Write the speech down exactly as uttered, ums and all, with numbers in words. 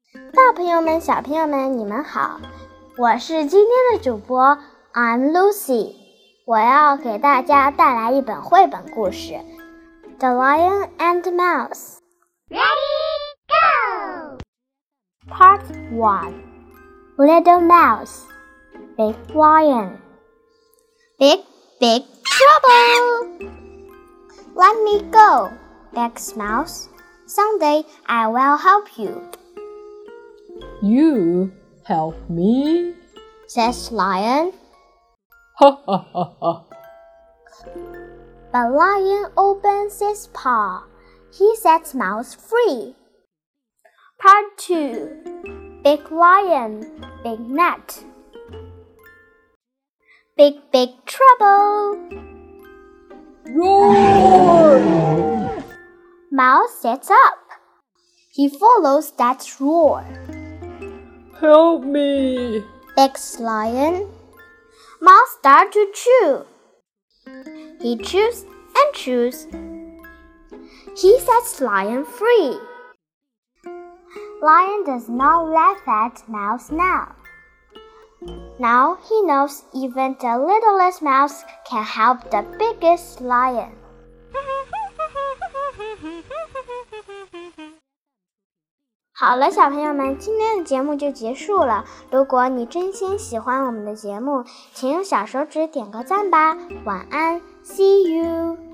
大朋友们、小朋友们，你们好，我是今天的主播 I'm Lucy， 我要给大家带来一本绘本故事《The Lion and the Mouse》。 Ready, go! Part one. Little Mouse, Big Lion. Big, big trouble! Let me go, begs Mouse. Someday I will help you. You help me? Says Lion. Ha ha ha ha. But Lion opens his paw. He sets Mouse free. Part two. Big Lion, Big Net. Big, big trouble. Roar! Mouse sits up. He follows that roar. Help me! Begs Lion. Mouse starts to chew. He chews and chews. He sets Lion free. Lion does not laugh at Mouse now. Now he knows even the littlest mouse can help the biggest lion. 好了，小朋友们，今天的节目就结束了。如果你真心喜欢我们的节目，请用小手指点个赞吧。晚安 ，See you。